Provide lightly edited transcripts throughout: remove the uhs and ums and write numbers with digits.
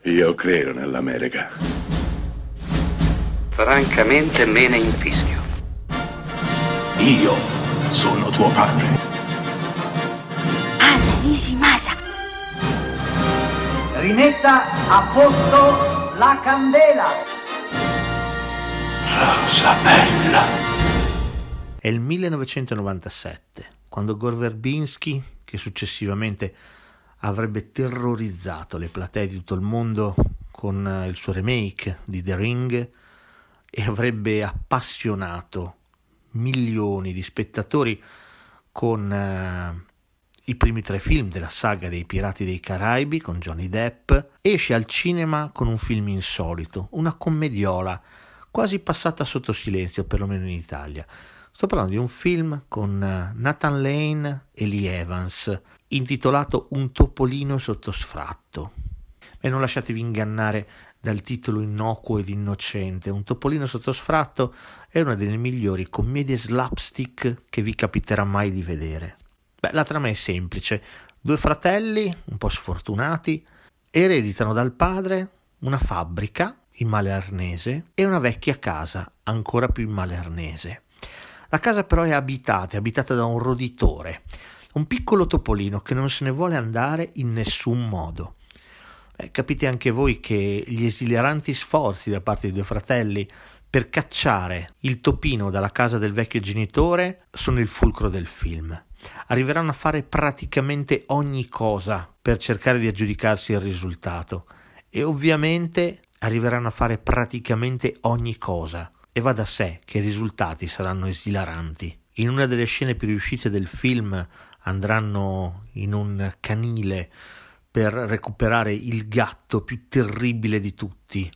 Io credo nell'America. Francamente me ne infischio. Io sono tuo padre. Anna Nishimasa. Rimetta a posto la candela. Rosa bella. È il 1997, quando Gore Verbinski, che successivamente avrebbe terrorizzato le platee di tutto il mondo con il suo remake di The Ring e avrebbe appassionato milioni di spettatori con i primi 3 film della saga dei Pirati dei Caraibi con Johnny Depp, esce al cinema con un film insolito, una commediola quasi passata sotto silenzio, perlomeno in Italia. Sto parlando di un film con Nathan Lane e Lee Evans, intitolato Un topolino sotto sfratto. E non lasciatevi ingannare dal titolo innocuo ed innocente. Un topolino sotto sfratto è una delle migliori commedie slapstick che vi capiterà mai di vedere. La trama è semplice. 2 fratelli, un po' sfortunati, ereditano dal padre una fabbrica in Male Arnese e una vecchia casa ancora più in Male Arnese. La casa però è abitata da un roditore, un piccolo topolino che non se ne vuole andare in nessun modo. Capite anche voi che gli esileranti sforzi da parte dei 2 fratelli per cacciare il topino dalla casa del vecchio genitore sono il fulcro del film. Arriveranno a fare praticamente ogni cosa per cercare di aggiudicarsi il risultato e ovviamente arriveranno a fare praticamente ogni cosa. E va da sé che i risultati saranno esilaranti. In una delle scene più riuscite del film andranno in un canile per recuperare il gatto più terribile di tutti,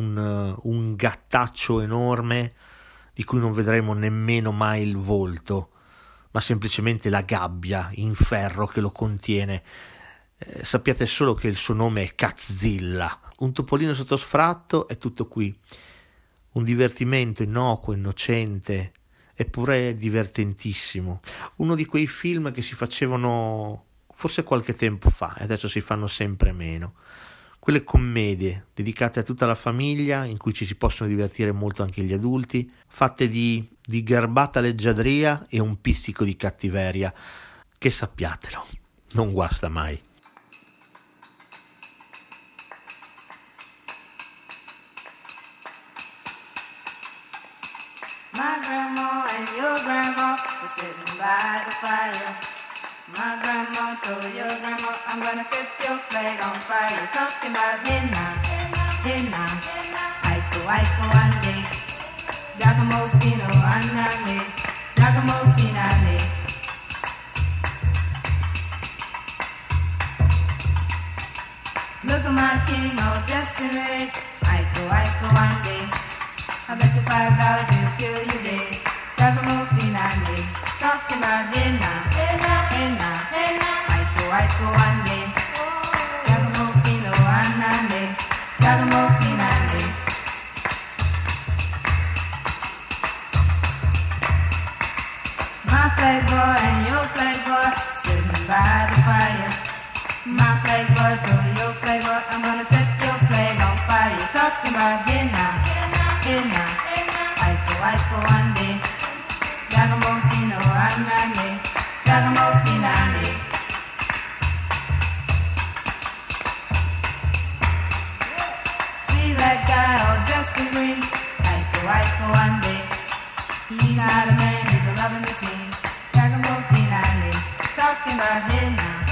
un gattaccio enorme di cui non vedremo nemmeno mai il volto, ma semplicemente la gabbia in ferro che lo contiene. Sappiate solo che il suo nome è Catzilla. Un topolino sotto sfratto è tutto qui. Un divertimento innocuo, innocente, eppure divertentissimo. Uno di quei film che si facevano forse qualche tempo fa e adesso si fanno sempre meno. Quelle commedie dedicate a tutta la famiglia, in cui ci si possono divertire molto anche gli adulti, fatte di garbata leggiadria e un pizzico di cattiveria, che sappiatelo, non guasta mai. My grandma and your grandma were sitting by the fire. My grandma told your grandma, I'm gonna set your flag on fire. Talking about hey now, Aiko ande, Giacomo Fino andame, Giacomo Finale. Look at my king all dressed in red, Aiko ande. I bet you $5 he'll kill you dead. Giacomo Finale, talking about hey now, Aiko ande. Giacomo Fino andame, Giacomo Finale. My flag boy and your flag boy sitting by the fire. My flag boy told your flag boy, I'm gonna set your flag on fire. Talking about hey now, Aiko ande. Giacomo Fino andame, Giacomo Finale. See that guy all dressed in green, Aiko ande. He's not a man, he's a loving machine. Giacomo Finale, talking about hey now,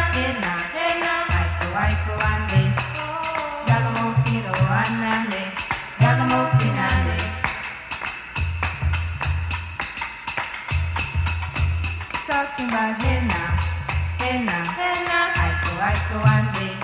Aiko ande. Giacomo Fino andame, Giacomo Finale. Talking about hey now, Aiko ande.